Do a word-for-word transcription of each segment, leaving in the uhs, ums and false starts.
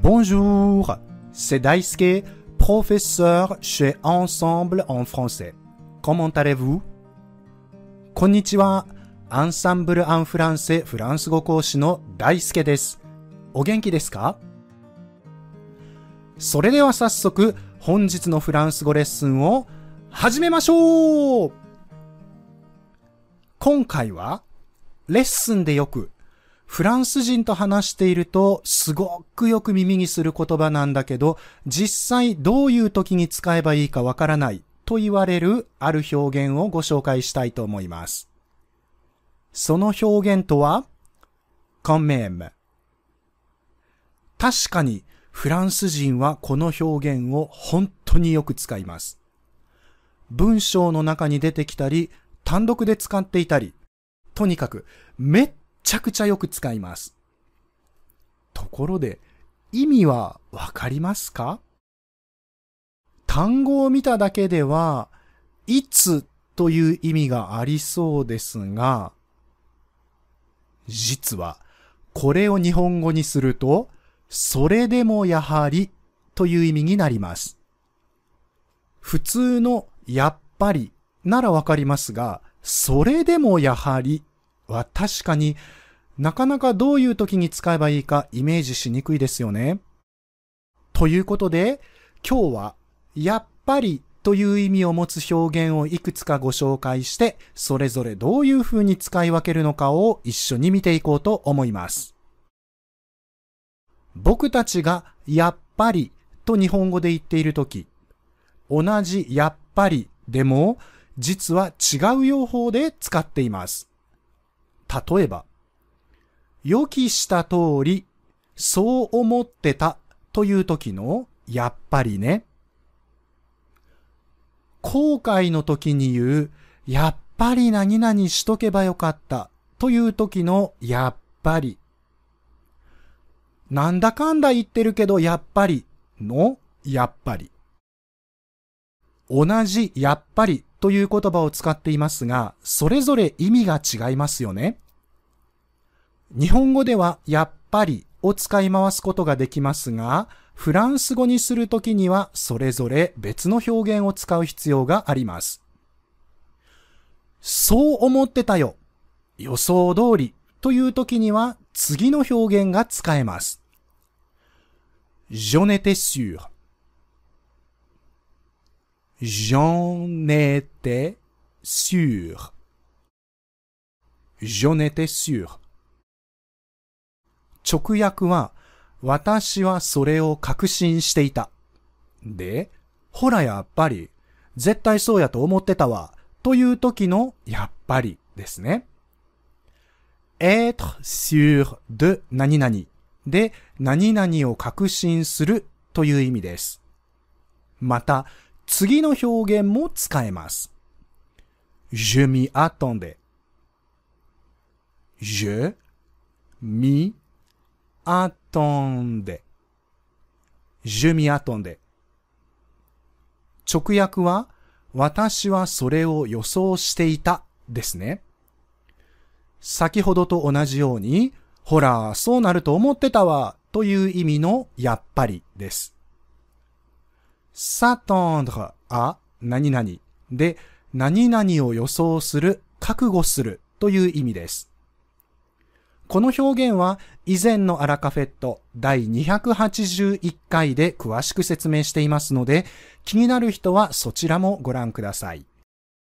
Bonjour, c'est Daisuke, professeur chez Ensemble en français. Comment allez-vous? こんにちは。アンサンブル・アン・フランセフランス語講師の大輔です。お元気ですか？それでは早速、本日のフランス語レッスンを始めましょう。今回は、レッスンでよく、フランス人と話しているとすごくよく耳にする言葉なんだけど、実際どういう時に使えばいいかわからないと言われるある表現をご紹介したいと思います。その表現とは、quand même。確かにフランス人はこの表現を本当によく使います。文章の中に出てきたり、単独で使っていたり、とにかくめっめちゃくちゃよく使います。ところで、意味はわかりますか？単語を見ただけでは、いつという意味がありそうですが、実はこれを日本語にすると、それでもやはりという意味になります。普通のやっぱりならわかりますが、それでもやはりは確かになかなかどういう時に使えばいいかイメージしにくいですよね。ということで、今日はやっぱりという意味を持つ表現をいくつかご紹介して、それぞれどういう風に使い分けるのかを一緒に見ていこうと思います。僕たちがやっぱりと日本語で言っているとき、同じやっぱりでも実は違う用法で使っています。例えば、予期した通り、そう思ってたという時のやっぱりね。後悔の時に言う、やっぱり何々しとけばよかったという時のやっぱり。なんだかんだ言ってるけどやっぱりのやっぱり。同じやっぱりという言葉を使っていますが、それぞれ意味が違いますよね。日本語ではやっぱりを使い回すことができますが、フランス語にするときにはそれぞれ別の表現を使う必要があります。そう思ってたよ。予想通りというときには次の表現が使えます。J'en étais sûr. J'en étais sûr. J'en étais sûr.直訳は、私はそれを確信していた。で、ほらやっぱり、絶対そうやと思ってたわ、という時のやっぱりですね。être sûr de 何々で、何々を確信するという意味です。また、次の表現も使えます。je m'y attendais. je m'y attendais. je m'y attendais. 直訳は、私はそれを予想していたですね。先ほどと同じように、ほら、そうなると思ってたわという意味のやっぱりです。s'attendre à 何々で、何々を予想する、覚悟するという意味です。この表現は以前のアラカフェットだいにひゃくはちじゅういっかいで詳しく説明していますので、気になる人はそちらもご覧ください。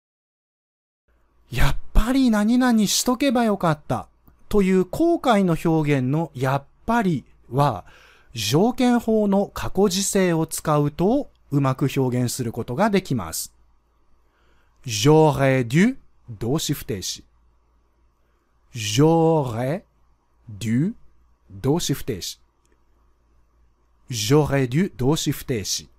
やっぱり何々しとけばよかったという後悔の表現のやっぱりは、条件法の過去時制を使うとうまく表現することができます。j'aurais dû 動詞不定詞。j'aurais dû 動詞不定詞。j'aurais dû 動詞不定詞。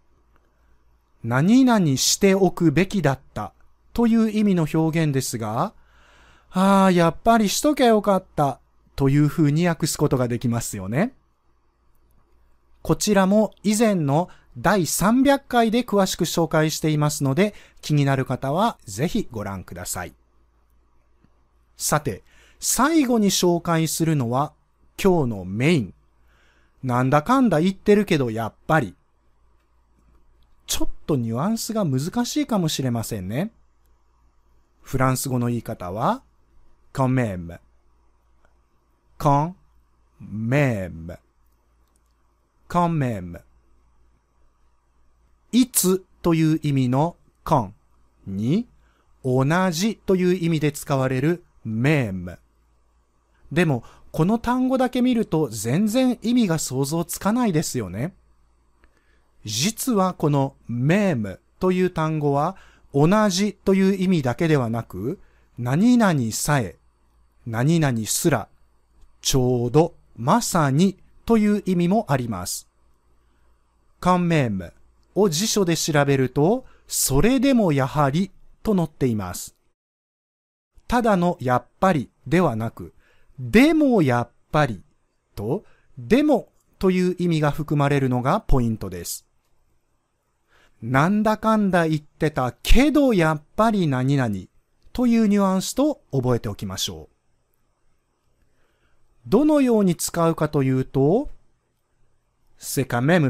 何々しておくべきだったという意味の表現ですが、ああ、やっぱりしとけよかったという風に訳すことができますよね。こちらも以前のだいさんびゃっかいで詳しく紹介していますので、気になる方はぜひご覧ください。さて、最後に紹介するのは今日のメイン。 なんだかんだ言ってるけどやっぱり。ちょっとニュアンスが難しいかもしれませんね。フランス語の言い方は、quand même。quand même。quand même。いつという意味の quand に、同じという意味で使われる même。でも、この単語だけ見ると全然意味が想像つかないですよね。実はこの même という単語は同じという意味だけではなく、何々さえ、何々すら、ちょうど、まさにという意味もあります。quand même を辞書で調べると、それでもやはりと載っています。ただのやっぱりではなく、でもやっぱりと、でもという意味が含まれるのがポイントです。なんだかんだ言ってたけどやっぱり何々というニュアンスと覚えておきましょう。どのように使うかというと、c'est quand même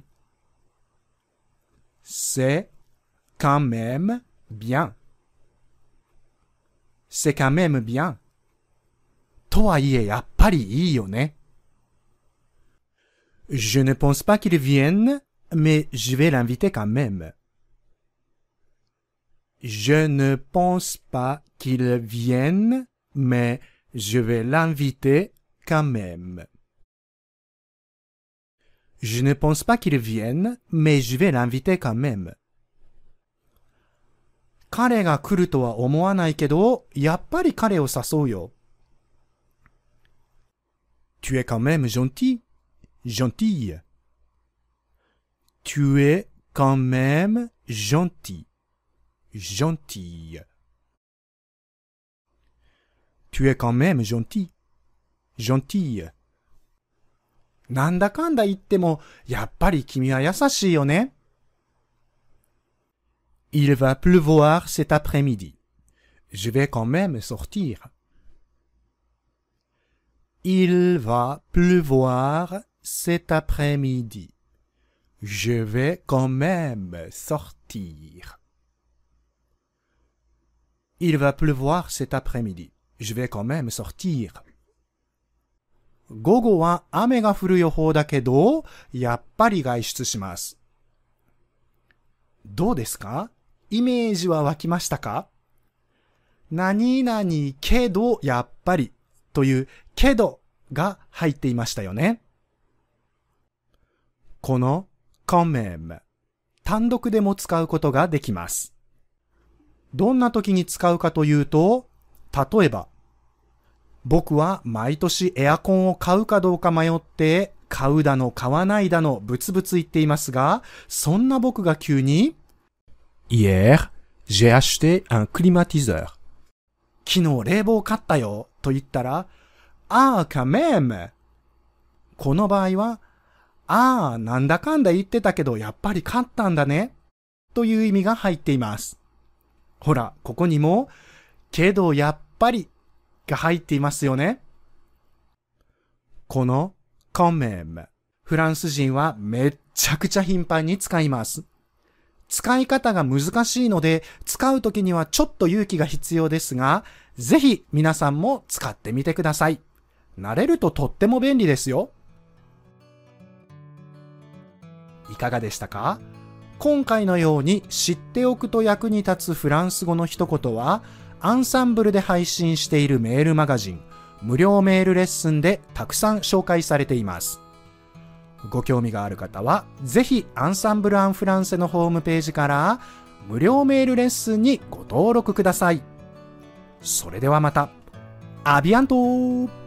bien。c'est quand même bien。c'est quand même bien。とはいえやっぱりいいよね。Je ne pense pas qu'il vienne。Mais je vais l'inviter quand même. Je ne pense pas qu'il vienne, mais je vais l'inviter quand même. Je ne pense pas qu'il vienne, mais je vais l'inviter quand même. 彼が来るとは思わないけど、やっぱり彼を誘うよ。Tu es quand même gentil, gentille.Tu es quand même gentil, gentille. Tu es quand même gentil, gentille. なんだかんだ言っても、やっぱり君は優しいよね。Il va pleuvoir cet après-midi. Je vais quand même sortir. Il va pleuvoir cet après-midi.Je vais quand même sortir. Il va pleuvoir cet après-midi. Je vais quand même sortir. 午後は雨が降る予報だけど、やっぱり外出します。どうですか？イメージは湧きましたか？何々けどやっぱりというけどが入っていましたよね。このquand même、単独でも使うことができます。どんな時に使うかというと、例えば、僕は毎年エアコンを買うかどうか迷って、買うだの買わないだのブツブツ言っていますが、そんな僕が急に、Hier, j'ai acheté un climatiseur. 昨日冷房買ったよと言ったら、ああ、quand même。この場合は、ああ、なんだかんだ言ってたけど、やっぱり勝ったんだね。という意味が入っています。ほら、ここにも、けどやっぱりが入っていますよね。この、quand même、フランス人はめっちゃくちゃ頻繁に使います。使い方が難しいので、使うときにはちょっと勇気が必要ですが、ぜひ皆さんも使ってみてください。慣れるととっても便利ですよ。いかがでしたか？今回のように知っておくと役に立つフランス語の一言は、アンサンブルで配信しているメールマガジン、無料メールレッスンでたくさん紹介されています。ご興味がある方は、ぜひアンサンブル・アン・フランセのホームページから無料メールレッスンにご登録ください。それではまた。アビアントー